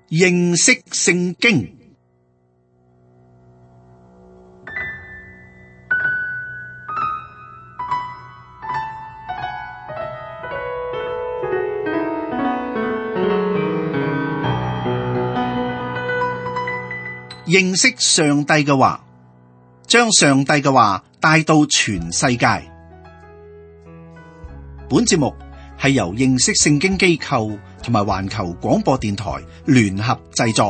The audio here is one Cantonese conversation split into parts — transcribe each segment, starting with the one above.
認識聖經。認識上帝嘅話，將上帝嘅話帶到全世界。本節目係由認識聖經機構同埋環球廣播電台聯合製作。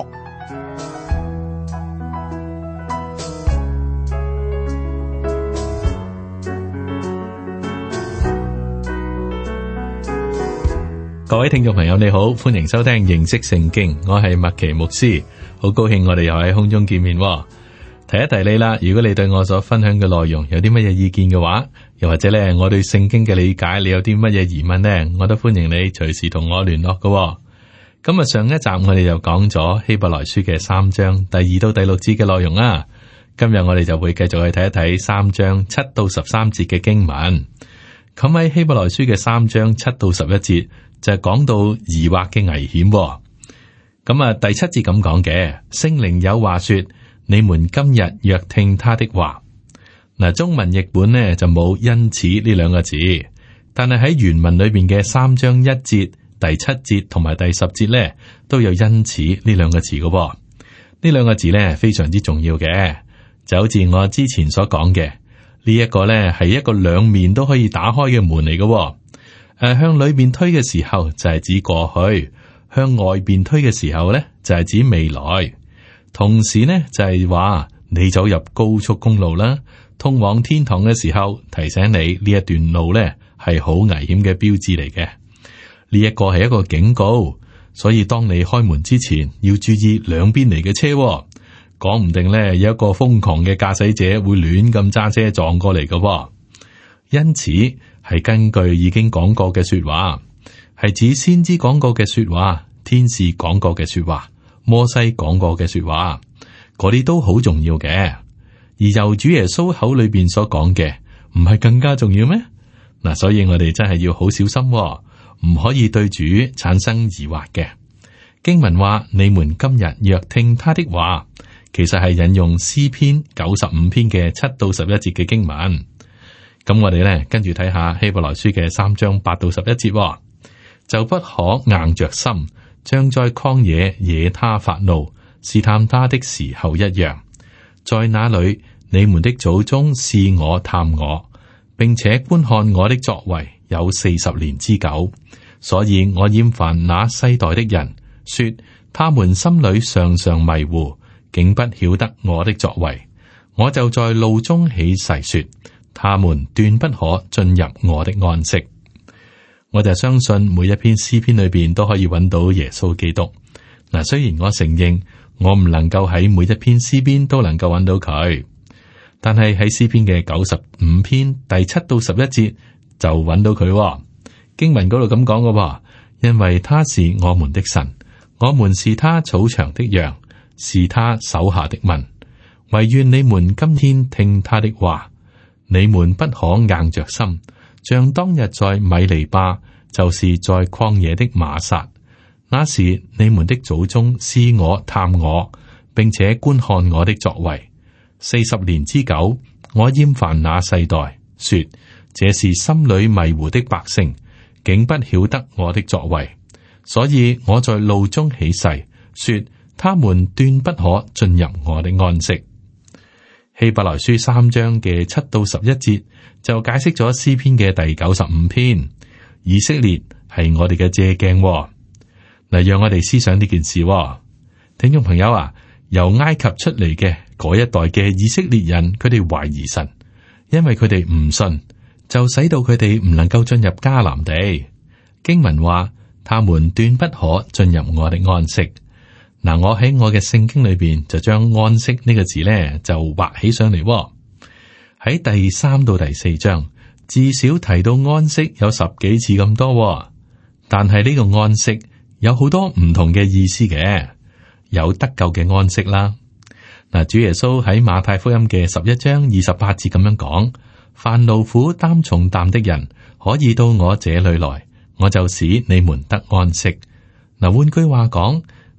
各位聽眾朋友你好，歡迎收聽認識聖經，我係麥奇牧師，好高興我哋又喺空中見面。提一提你啦，如果你對我所分享嘅內容有啲乜嘢意見嘅話，又或者咧我對聖經嘅理解，你有啲乜嘢疑問呢，我都歡迎你隨時同我聯絡嘅。咁啊，上一集我哋就講咗希伯來書嘅3章第2到第6節嘅內容啦。今日我哋就會繼續去睇一睇3章7到13節嘅經文。咁喺希伯來書嘅3章7到11節就係講到疑惑嘅危險。咁啊，第7節咁講嘅，聖靈有話說，你們今日若聽他的話。嗱，中文譯本呢就冇因此呢兩個字，但係喺原文裏邊嘅3章1節、第7節同埋第10節呢，都有因此呢兩個字嘅。呢兩個字呢非常之重要嘅，就好似我之前所講嘅，呢一個呢係一個兩面都可以打開嘅門嚟嘅。向裏邊推嘅時候就係指過去，向外邊推嘅時候呢就係指未來。同時呢就係話你走入高速公路啦，通往天堂嘅時候，提醒你呢一段路呢係好危險嘅標誌嚟嘅。呢一個係一個警告，所以當你開門之前要注意兩邊嚟嘅車，講唔定呢有一個瘋狂嘅駕駛者會亂咁揸車撞過嚟嘅。因此係根據已經講過嘅說話，係指先知講過嘅說話，天使講過嘅說話，摩西講過嘅說話，嗰啲都好重要嘅。而由主耶穌口裏邊所講嘅，唔係更加重要咩？嗱，所以我哋真係要好小心，唔可以對主產生疑惑嘅。經文話：你們今日若聽他的話，其實係引用詩篇95篇嘅7到11節嘅經文。咁我哋咧跟住睇下希伯來書嘅3章8到11節，就不可硬着心，像在曠野惹他發怒、試探他的時候一樣。在那裏，你們的祖宗試我探我，並且觀看我的作為有40年之久，所以我厭煩那世代的人，說他們心裏常常迷糊，竟不曉得我的作為。我就在怒中起誓說，他們斷不可進入我的安息。我就相信每一篇詩篇裏邊都可以揾到耶穌基督。嗱，雖然我承認我唔能夠喺每一篇詩篇都能夠揾到佢，但係喺詩篇嘅95篇第7到11節就揾到佢。經文嗰度咁講嘅，因為他是我們的神，我們是他草場的羊，是他手下的民。惟願你們今天聽他的話，你們不可硬着心，像當日在米利巴，就是在曠野的瑪撒。那時你們的祖宗試我探我，並且觀看我的作為40年之久。我厭煩那世代，說這是心裏迷糊的百姓，竟不曉得我的作為。所以我在怒中起誓，說他們斷不可進入我的安息。希伯來書3章嘅7到11節就解釋咗詩篇嘅第95篇。以色列係我哋嘅借鏡，嗱，讓我哋思想呢件事。聽眾朋友啊，由埃及出嚟嘅嗰一代嘅以色列人，佢哋懷疑神，因為佢哋唔信，就使到佢哋唔能夠進入迦南地。經文話，他們斷不可進入我的安息。嗱，我喺我嘅聖經裏邊就將安息呢個字咧就畫起上嚟。喺第3到第4章至少提到安息有10幾次咁多，但係呢個安息有好多唔同嘅意思嘅，有得救嘅安息啦。嗱，主耶穌喺馬太福音嘅11章28節咁樣講：凡勞苦擔重擔的人，可以到我這裏來，我就使你們得安息。嗱，換句話講，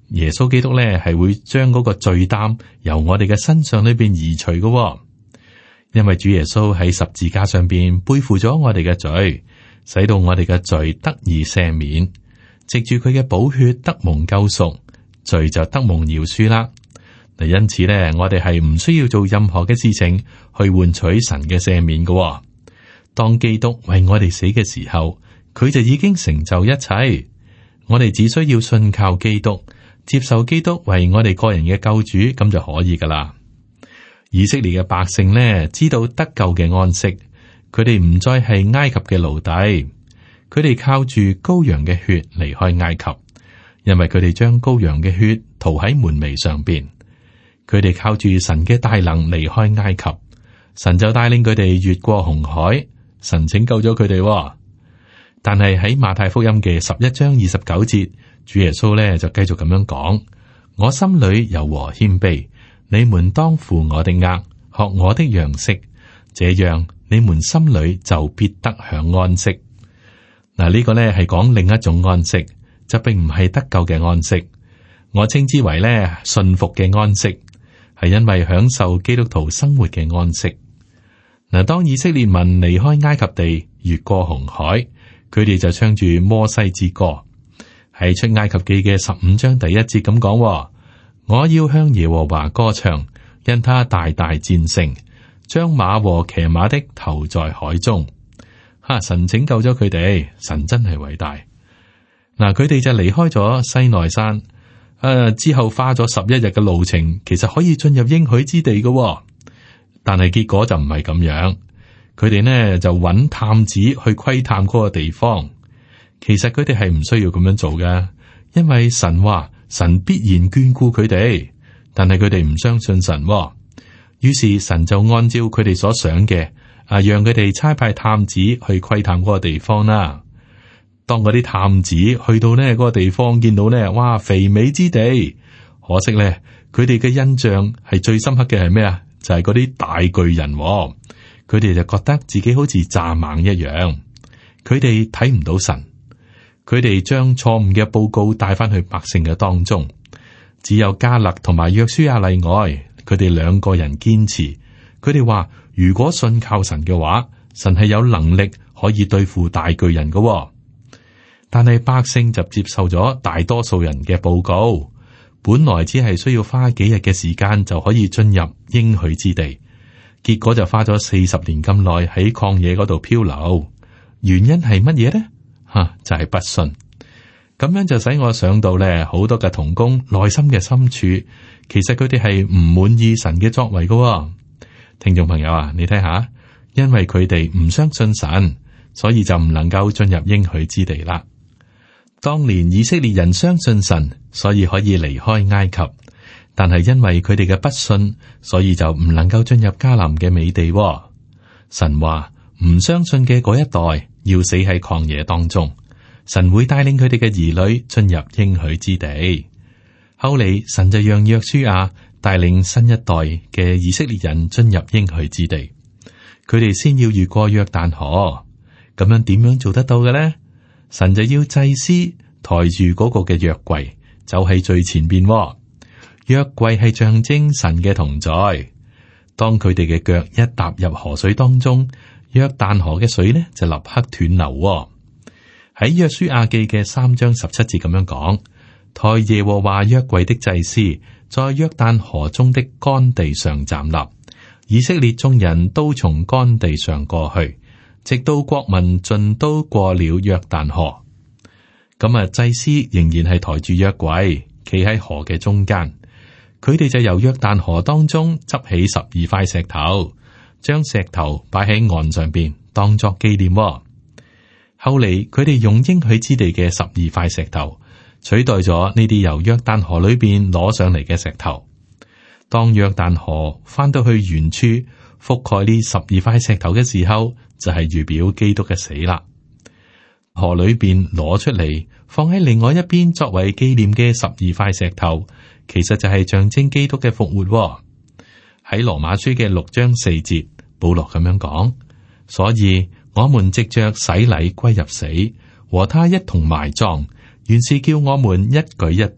耶穌基督咧係會將嗰個罪擔由我哋嘅身上裏邊移除嘅，因為主耶穌喺十字架上邊背負咗我哋嘅罪，使到我哋嘅罪得以赦免，藉住佢嘅寶血得蒙救贖，罪就得蒙饒恕啦。嗱，因此咧，我哋係唔需要做任何嘅事情去換取神嘅赦免嘅。當基督為我哋死嘅時候，佢就已經成就一切。我哋只需要信靠基督，接受基督為我哋個人嘅救主，咁就可以噶啦。以色列嘅百姓呢，知道得救嘅安息，佢哋唔再係埃及嘅奴隸，佢哋靠住羔羊嘅血離開埃及，因為佢哋將羔羊嘅血塗喺門楣上邊。佢哋靠住神嘅大能離開埃及，神就帶領佢哋越過紅海，神拯救咗佢哋。但係喺馬太福音嘅11章29節，主耶穌咧就繼續咁樣講：我心裏柔和謙卑，你們當負我的軛，學我的樣式，這樣你們心裏就必得享安息。嗱，呢個咧係講另一種安息，就並唔係得救嘅安息。我稱之為咧信服嘅安息。係因為享受基督徒生活嘅安息。嗱，當以色列民離開埃及地，越過紅海，佢哋就唱住摩西之歌。喺出埃及記嘅15章第1節咁講：我要向耶和華歌唱，因他大大戰勝，將馬和騎馬的投在海中。神拯救咗佢哋，神真係偉大。嗱，佢哋就離開咗西奈山。之後花咗11日嘅路程，其實可以進入應許之地嘅，但係結果就唔係咁樣。佢哋呢就揾探子去窺探嗰個地方。其實佢哋係唔需要咁樣做嘅，因為神話神必然眷顧佢哋，但係佢哋唔相信神。於是神就按照佢哋所想嘅，讓佢哋差派探子去窺探嗰個地方啦。當嗰啲探子去到呢嗰個地方，見到呢，哇，肥美之地。可惜呢，佢哋嘅印象係最深刻嘅係咩啊？就係嗰啲大巨人。佢哋就覺得自己好似蚱蜢一樣。佢哋睇唔到神，佢哋將錯誤嘅報告帶翻去百姓嘅當中。只有迦勒同埋約書亞例外，佢哋兩個人堅持。佢哋話如果信靠神嘅話，神係有能力可以對付大巨人嘅。但係百姓就接受咗大多數人嘅報告，本來只係需要花幾日嘅時間就可以進入應許之地，結果就花咗40年咁耐喺曠野嗰度漂流。原因係乜嘢呢？就係不信。咁樣就使我想到咧，好多嘅同工內心嘅深處，其實佢哋係唔滿意神嘅作為嘅。聽眾朋友啊，你睇下，因為佢哋唔相信神，所以就唔能夠進入應許之地啦。當年以色列人相信神，所以可以離開埃及，但係因為佢哋嘅不信，所以就唔能夠進入迦南嘅美地。神話唔相信嘅嗰一代要死喺曠野當中，神會帶領佢哋嘅兒女進入應許之地。後嚟神就讓約書亞帶領新一代嘅以色列人進入應許之地，佢哋先要越過約旦河。咁樣點樣做得到嘅呢？神就要祭司抬住嗰個嘅約櫃，走喺最前邊。約櫃係象徵神嘅同在。當佢哋嘅腳一踏入河水當中，約旦河嘅水呢就立刻斷流。喺約書亞記嘅3章17節咁樣講：抬耶和華約櫃的祭司在約旦河中的乾地上站立，以色列眾人都從乾地上過去，直到國民盡都過了約旦河。咁祭司仍然係抬住約櫃，企喺河嘅中間。佢哋就由約旦河當中執起12塊石頭，將石頭擺喺岸上邊，當作紀念。後嚟佢哋用應許之地嘅12塊石頭取代咗呢啲由約旦河裏邊攞上嚟嘅石頭。當約旦河翻到去原處覆蓋呢12塊石頭嘅時候，就係預表基督嘅死啦。河裏邊攞出嚟放喺另外一邊作為紀念嘅12塊石頭，其實就係象徵基督嘅復活。喺羅馬書嘅6章4節，保羅咁樣講：所以我們藉着洗禮歸入死，和他一同埋葬，原是叫我們一舉一動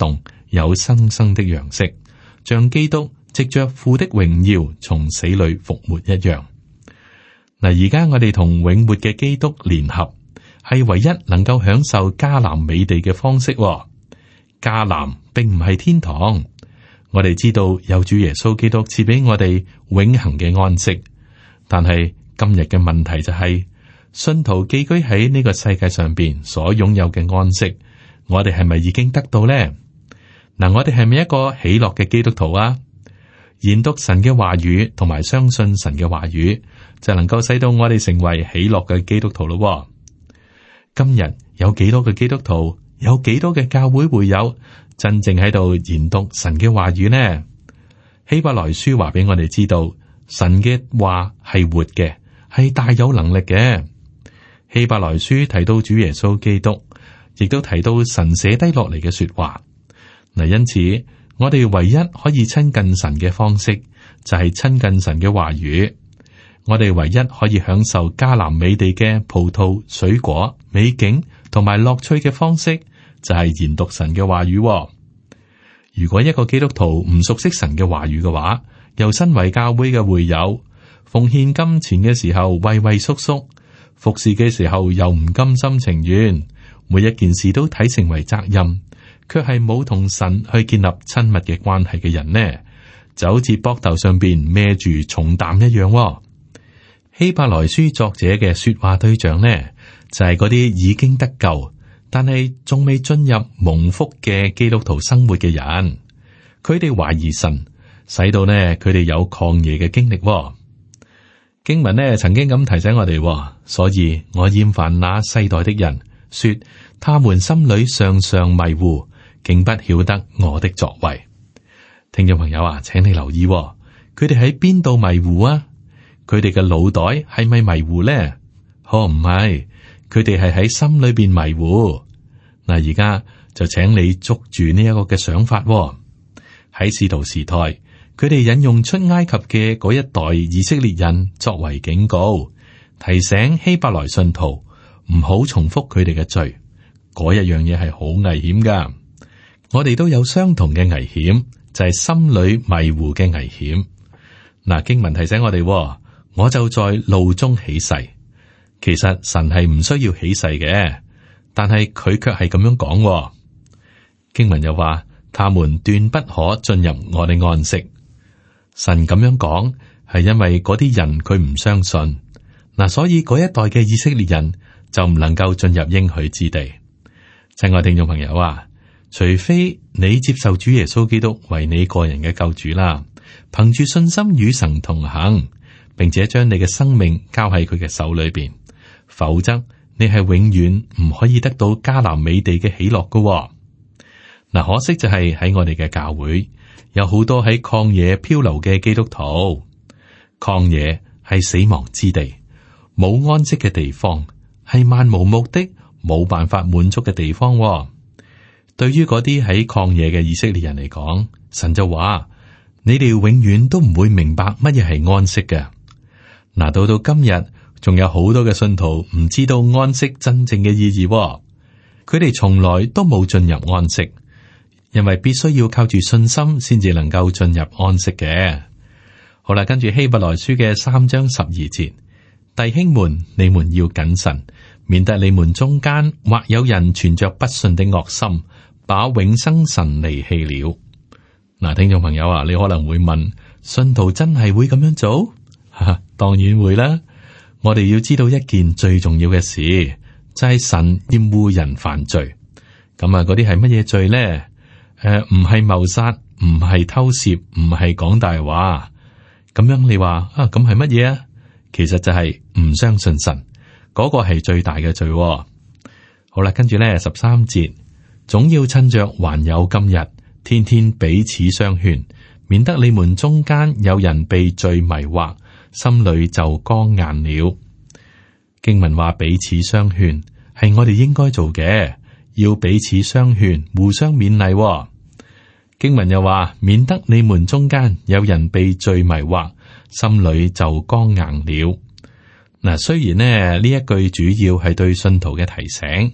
有新生的樣式，像基督藉着父的榮耀從死裏復活一樣。嗱，而家我哋同永活嘅基督聯合，係唯一能夠享受迦南美地嘅方式。迦南並唔係天堂，我哋知道有主耶穌基督賜俾我哋永恆嘅安息。但係今日嘅問題就係，信徒寄居喺呢個世界上邊所擁有嘅安息，我哋係咪已經得到呢？嗱，我哋係咪一個喜樂嘅基督徒啊？研讀神嘅話語同埋相信神嘅話語，就能夠使到我哋成為喜樂嘅基督徒咯。今日有幾多嘅基督徒，有幾多嘅教會會友真正喺度研讀神嘅話語呢？希伯來書話俾我哋知道，神嘅話係活嘅，係大有能力嘅。希伯來書提到主耶穌基督，亦都提到神寫低落嚟嘅說話。嗱，因此我哋唯一可以親近神嘅方式，就係親近神嘅話語。我哋唯一可以享受迦南美地嘅葡萄、水果、美景同埋樂趣嘅方式，就係研讀神嘅話語。如果一個基督徒唔熟悉神嘅話語嘅話，又身為教會嘅會友，奉獻金錢嘅時候畏畏縮縮，服侍嘅時候又唔甘心情願，每一件事都睇成為責任，卻係冇同神去建立親密嘅關係嘅人呢，就好似膊頭上邊孭住重擔一樣。希伯來書作者嘅說話對象呢，就係嗰啲已經得救，但係仲未進入蒙福嘅基督徒生活嘅人。佢哋懷疑神，使到呢佢哋有曠野嘅經歷。經文呢曾經咁提醒我哋，所以我厭煩那世代的人，說他們心裏常常迷糊，竟不曉得我的作為。聽眾朋友啊，請你留意，佢哋喺邊度迷糊啊？佢哋嘅腦袋係咪迷糊呢？唔係，佢哋係喺心裏邊迷糊。嗱，而家就請你捉住呢一個嘅想法。喺使徒時代，佢哋引用出埃及嘅嗰一代以色列人作為警告，提醒希伯來信徒唔好重複佢哋嘅罪。嗰一樣嘢係好危險噶。我哋都有相同嘅危險，就係心裏迷糊嘅危險。嗱，經文提醒我哋，我就在怒中起誓。其實神係唔需要起誓嘅，但係佢卻係咁樣講。經文又話，他們斷不可進入我的安息。神咁樣講係因為嗰啲人佢唔相信。嗱，所以嗰一代嘅以色列人就唔能夠進入應許之地。親愛聽眾朋友啊，除非你接受主耶穌基督為你個人嘅救主啦，憑住信心與神同行，並且將你嘅生命交喺佢嘅手裏邊，否則你係永遠唔可以得到迦南美地嘅喜樂㗎。嗱，可惜就係喺我哋嘅教會有好多喺曠野漂流嘅基督徒。曠野係死亡之地，冇安息嘅地方，係漫無目的、冇辦法滿足嘅地方。對於嗰啲喺曠野嘅以色列人嚟講，神就話：你哋永遠都唔會明白乜嘢係安息嘅。嗱，到今日仲有好多嘅信徒唔知道安息真正嘅意義。佢哋從來都冇進入安息，因為必須要靠住信心先至能夠進入安息嘅。好啦，跟住希伯來書嘅3章12節，弟兄們，你們要謹慎，免得你們中間或有人存着不信的惡心，把永生神離棄了。嗱，聽眾朋友啊，你可能會問，信徒真係會咁樣做？當然會啦。我哋要知道一件最重要嘅事，就係神厭惡人犯罪。咁啊，嗰啲係乜嘢罪咧？唔係謀殺，唔係偷竊，唔係講大話。咁樣你話啊，咁係乜嘢啊？其實就係唔相信神，嗰個係最大嘅罪。好啦，跟住咧13節，總要趁着還有今日，天天彼此相勸，免得你們中間有人被罪迷惑，心裏就剛硬了。經文話彼此相勸，係我哋應該做嘅，要彼此相勸，互相勉勵。經文又話，免得你們中間有人被罪迷惑，心裏就剛硬了。嗱，雖然呢一句主要係對信徒嘅提醒，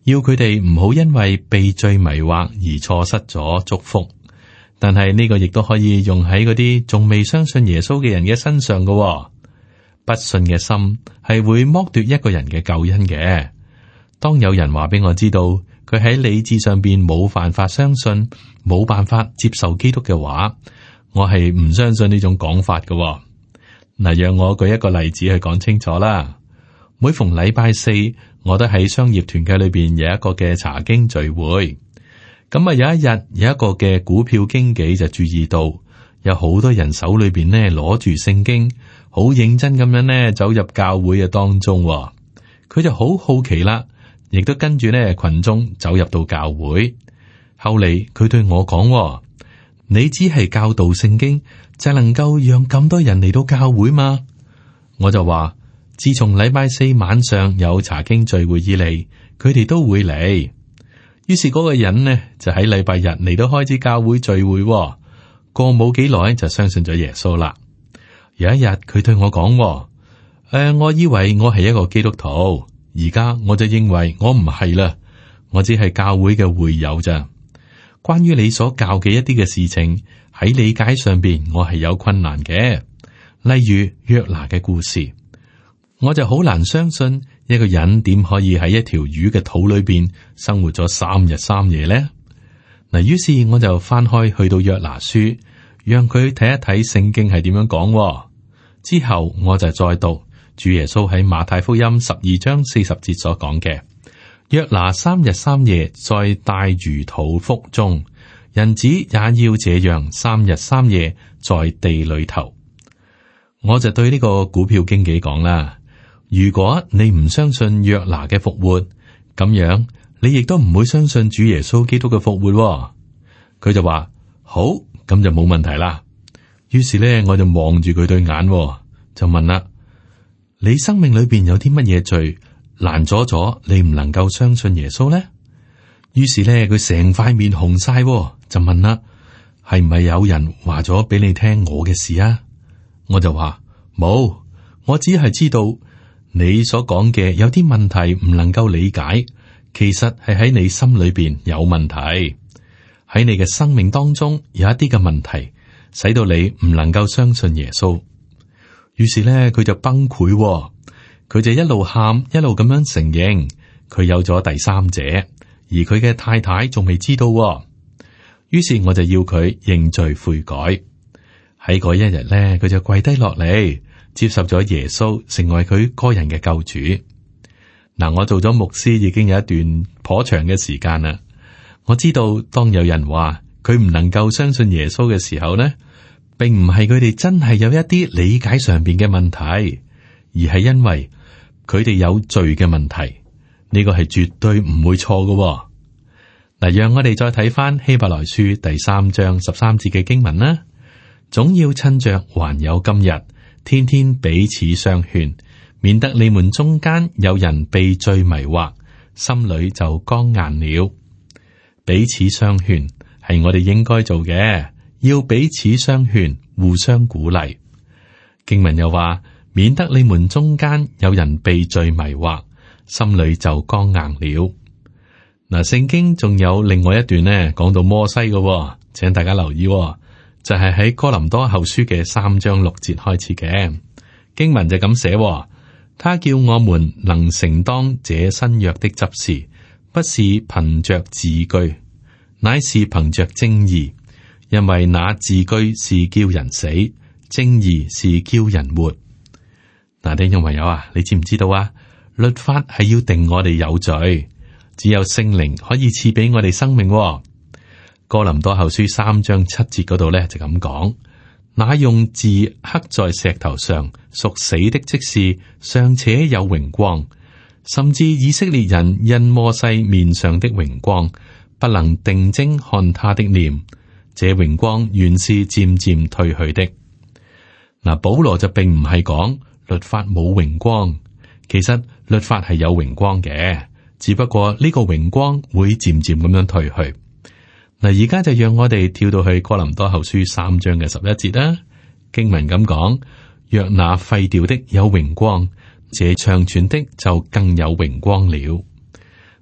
要佢哋唔好因為被罪迷惑而錯失咗祝福。但係呢個亦都可以用喺嗰啲仲未相信耶穌嘅人嘅身上嘅。不信嘅心係會剝奪一個人嘅救恩嘅。當有人話俾我知道佢喺理智上邊冇辦法相信，冇辦法接受基督嘅話，我係唔相信呢種講法嘅。嗱，讓我舉一個例子去講清楚啦。每逢禮拜四，我都喺商業團契裏邊有一個嘅查經聚會。咁啊，有一日有一個嘅股票經紀就注意到有好多人手裏邊呢攞住聖經，好認真咁樣呢走入教會嘅當中。佢就好好奇啦，亦都跟住呢群眾走入到教會。後嚟佢對我講：你只係教導聖經，就能夠讓咁多人嚟到教會嗎？我就話：自從禮拜四晚上有查經聚會以嚟，佢哋都會嚟。於是嗰個人呢就喺禮拜日嚟到開始教會聚會，過冇幾耐就相信咗耶穌啦。有一日佢對我講：我以為我係一個基督徒，而家我就認為我唔係啦，我只係教會嘅會友咋。關於你所教嘅一啲嘅事情，喺理解上邊我係有困難嘅，例如約拿嘅故事，我就好難相信一個人點可以喺一條魚嘅肚裏邊生活咗3日3夜呢？嗱，於是我就翻開去到約拿書，讓佢睇一睇聖經係點樣講。之後我就再讀主耶穌喺馬太福音12章40節所講嘅：約拿3日3夜在大魚肚腹中，人子也要這樣3日3夜在地裏頭。我就對呢個股票經紀講啦：如果你唔相信約拿嘅復活，咁樣你亦都唔會相信主耶穌基督嘅復活。佢就話好，咁就冇問題啦。於是咧，我就望住佢對眼，就問啦：你生命裏邊有啲乜嘢罪攔阻咗你唔能夠相信耶穌呢？於是咧，佢成塊面紅晒，就問啦：係唔係有人話咗俾你聽我嘅事啊？我就話冇，我只係知道你所講嘅有啲問題唔能夠理解，其實係喺你心裏邊有問題，喺你嘅生命當中有一啲嘅問題，使到你唔能夠相信耶穌。於是咧，佢就崩潰，佢就一路喊一路咁樣承認佢有咗第三者，而佢嘅太太仲未知道。於是我就要佢認罪悔改。喺嗰一日咧，佢就跪低落嚟，接受咗耶穌成為佢個人嘅救主。嗱，我做咗牧師已經有一段頗長嘅時間啦。我知道當有人話佢唔能夠相信耶穌嘅時候呢，並唔係佢哋真係有一啲理解上邊嘅問題，而係因為佢哋有罪嘅問題。呢個係絕對唔會錯嘅。嗱，讓我哋再睇翻希伯來書第3章13節嘅經文啦。總要趁着還有今日，天天彼此相勸，免得你們中間有人被罪迷惑，心裏就剛硬了。彼此相勸係我哋應該做嘅，要彼此相勸，互相鼓勵。經文又話，免得你們中間有人被罪迷惑，心裏就剛硬了。嗱，聖經仲有另外一段呢，講到摩西嘅，請大家留意，就係喺哥林多後書嘅3章6節開始嘅經文就咁寫，他叫我們能承當這新約的執事，不是憑着字據，乃是憑着正義，因為那字據是叫人死，正義是叫人活。嗱，聽眾朋友啊，你知唔知道啊？律法係要定我哋有罪，只有聖靈可以賜俾我哋生命。哥林多後書3章7節嗰度咧就咁講，那用字刻在石頭上屬死的職事尚且有榮光，甚至以色列人因摩西面上的榮光不能定睛看他的臉，這榮光原是漸漸退去的。嗱，保羅就並唔係講律法冇榮光，其實律法係有榮光嘅，只不過呢個榮光會漸漸咁樣退去。嗱，而家就讓我哋跳到去哥林多後書3章嘅11節啦。經文咁講，若那廢掉的有榮光，這長存的就更有榮光了。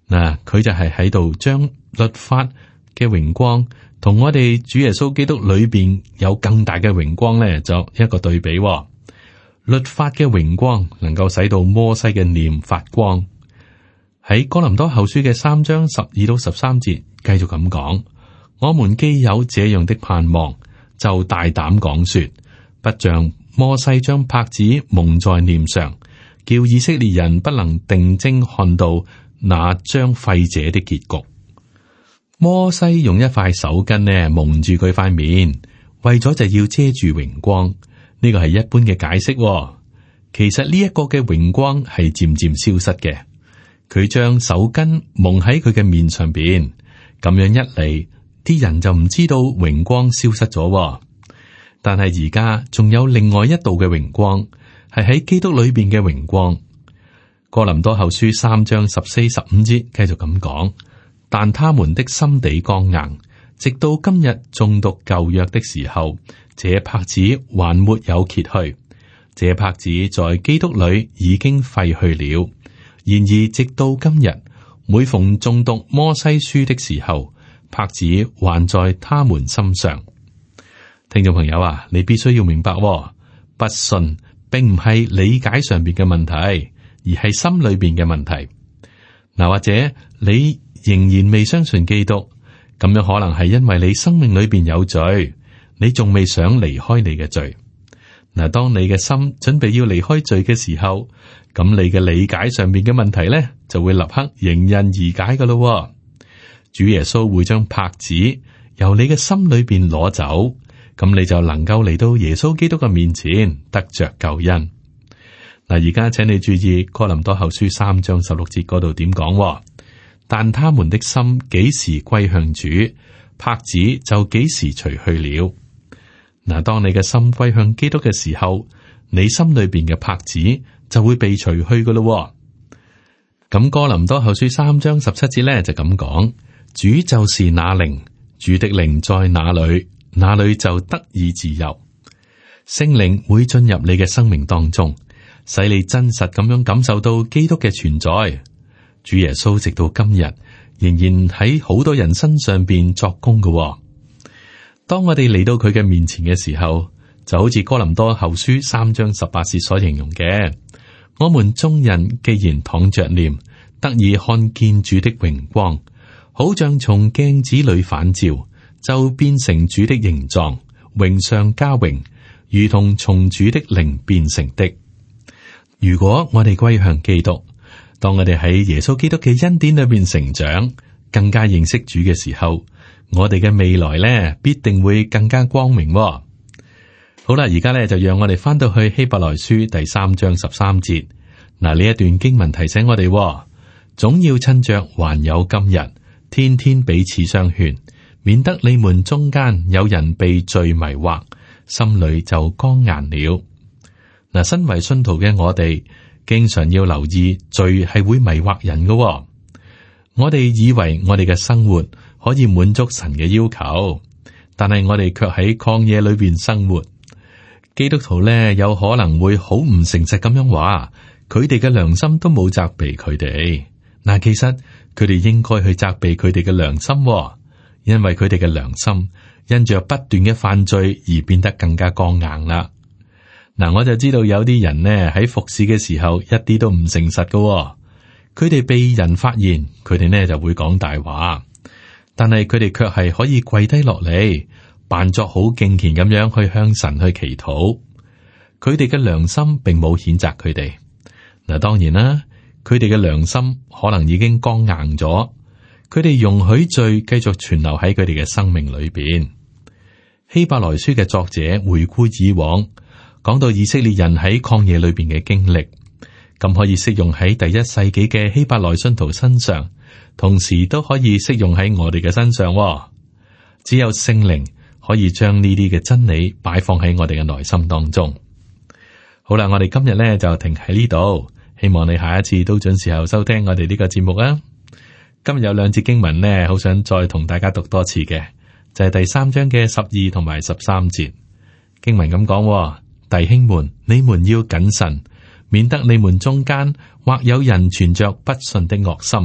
嗱，佢就係喺度將律法嘅榮光同我哋主耶穌基督裏邊有更大嘅榮光咧，作一個對比。律法嘅榮光能夠使到摩西嘅臉發光。喺哥林多後書嘅3章12到13節，繼續咁講：我們既有這樣的盼望，就大膽講說，不像摩西將帕子蒙在臉上，叫以色列人不能定睛看到那將廢者的結局。摩西用一塊手巾呢蒙住佢塊面，為咗就要遮住榮光。呢個係一般嘅解釋。其實呢一個嘅榮光係漸漸消失嘅。佢將手巾蒙喺佢嘅面上邊，咁樣一嚟，啲人就唔知道榮光消失咗。但係而家仲有另外一道嘅榮光，係喺基督裏邊嘅榮光。哥林多後書3章14、15節繼續咁講：但他們的心地剛硬，直到今日誦讀舊約的時候，這帕子還沒有揭去。這帕子在基督裏已經廢去了。然而直到今日，每逢誦讀摩西書的時候，帕子還在他們心上。聽眾朋友啊，你必須要明白，不信並唔係理解上邊嘅問題，而係心裏邊嘅問題。嗱，或者你仍然未相信基督，咁樣可能係因為你生命裏邊有罪，你仲未想離開你嘅罪。嗱，當你嘅心準備要離開罪嘅時候，咁你嘅理解上面嘅問題咧，就會立刻迎刃而解噶咯。主耶穌會將帕子由你嘅心裏邊攞走，咁你就能夠嚟到耶穌基督嘅面前得着救恩。嗱，而家請你注意哥林多後書3章16節嗰度點講？但他們的心幾時歸向主，帕子就幾時除去了。嗱，當你嘅心歸向基督嘅時候，你心裏邊嘅帕子就會被除去噶咯。咁哥林多後書3章17節咧就咁講：主就是那靈，主的靈在哪裏，那裏就得以自由。聖靈會進入你嘅生命當中，使你真實咁樣感受到基督嘅存在。主耶穌直到今日仍然喺好多人身上邊作工嘅。當我哋嚟到佢嘅面前嘅時候，就好似哥林多後書3章18節所形容嘅：我們眾人既然敞着臉，得以看見主的榮光，好像從鏡子裏反照，就變成主的形狀，榮上加榮，如同從主的靈變成的。如果我哋歸向基督，當我哋喺耶穌基督嘅恩典裏邊成長，更加認識主嘅時候，我哋嘅未來咧必定會更加光明。好啦，而家咧就讓我哋翻到去希伯來書第3章13節。嗱，呢一段經文提醒我哋，總要趁着還有今日，天天彼此相勸，免得你們中間有人被罪迷惑，心裏就剛硬了。嗱，身為信徒嘅我哋，經常要留意罪係會迷惑人嘅。我哋以為我哋嘅生活可以滿足神嘅要求，但係我哋卻喺曠野裏邊生活。基督徒咧有可能會好唔誠實咁樣話，佢哋嘅良心都冇責備佢哋。嗱，其實佢哋應該去責備佢哋嘅良心，因為佢哋嘅良心因着不斷嘅犯罪而變得更加剛硬啦。嗱，我就知道有啲人呢喺服侍嘅時候一啲都唔誠實㗎，佢哋被人發現，佢哋呢就會講大話。但係佢哋卻係可以跪低落嚟，扮作好敬虔咁樣去向神去祈禱。佢哋嘅良心並冇譴責佢哋。嗱，當然啦，佢哋嘅良心可能已經剛硬咗，佢哋容許罪繼續存留喺佢哋嘅生命裏邊。希伯來書嘅作者回顧以往，講到以色列人喺曠野裏邊嘅經歷，咁可以適用喺第一世紀嘅希伯來信徒身上。同時都可以適用喺我哋嘅身上。只有聖靈可以將呢啲嘅真理擺放喺我哋嘅內心當中。好啦，我哋今日咧就停喺呢度，希望你下一次都準時候收聽我哋呢個節目啊。今日有2節經文呢，好想再同大家讀多次嘅，就係第3章嘅12同埋13節經文咁講：弟兄們，你們要謹慎，免得你們中間或有人存着不信的惡心，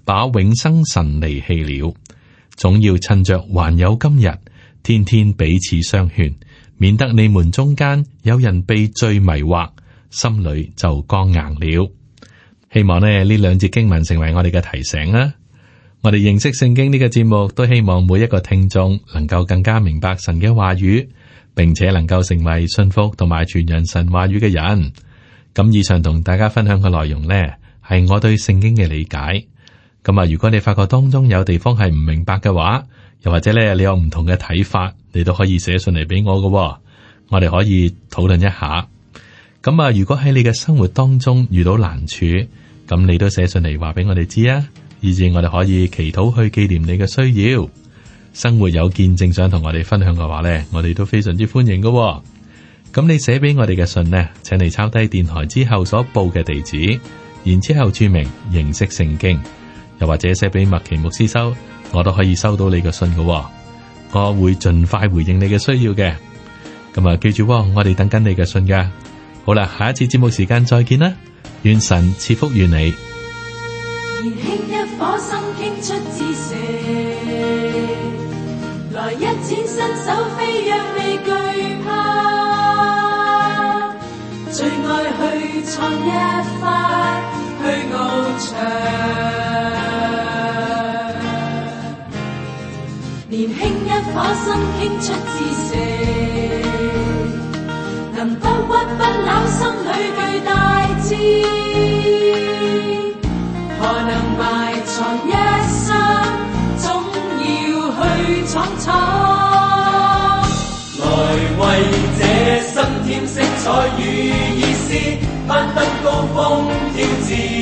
把永生神離棄了。總要趁着還有今日，天天彼此相勸，免得你們中間有人被罪迷惑，心裏就剛硬了。希望呢兩節經文成為我哋嘅提醒啦。我哋認識聖經呢個節目，都希望每一個聽眾能夠更加明白神嘅話語，並且能夠成為信服同埋傳揚神話語嘅人。咁以上同大家分享嘅內容呢，係我對聖經嘅理解。咁啊，如果你發覺當中有地方係唔明白嘅話，又或者咧你有唔同嘅睇法，你都可以寫信嚟俾我嘅，我哋可以討論一下。咁啊，如果喺你嘅生活當中遇到難處，咁你都寫信嚟話俾我哋知啊，以至我哋可以祈禱去紀念你嘅需要。生活有見證想同我哋分享嘅話呢，我哋都非常之歡迎嘅。咁你寫俾我哋嘅信呢，請你抄低電台之後所報嘅地址，然之後注明認識聖經，又或者寫俾麥奇牧師收，我都可以收到你嘅信嘅。我會盡快回應你嘅需要嘅。咁啊，記住，我哋等緊你嘅信噶。好啦，下一次節目時間再見啦，願神賜福於你。 年輕一顆心傾出志射，來一展身手飛躍未懼怕，最愛去創一番去翱翔。年輕一顆心傾出志射，能不屈不撓，心裏巨大志，何能埋藏一生，總要去闖闖。來為這生添色彩與意思，攀登高峰挑戰。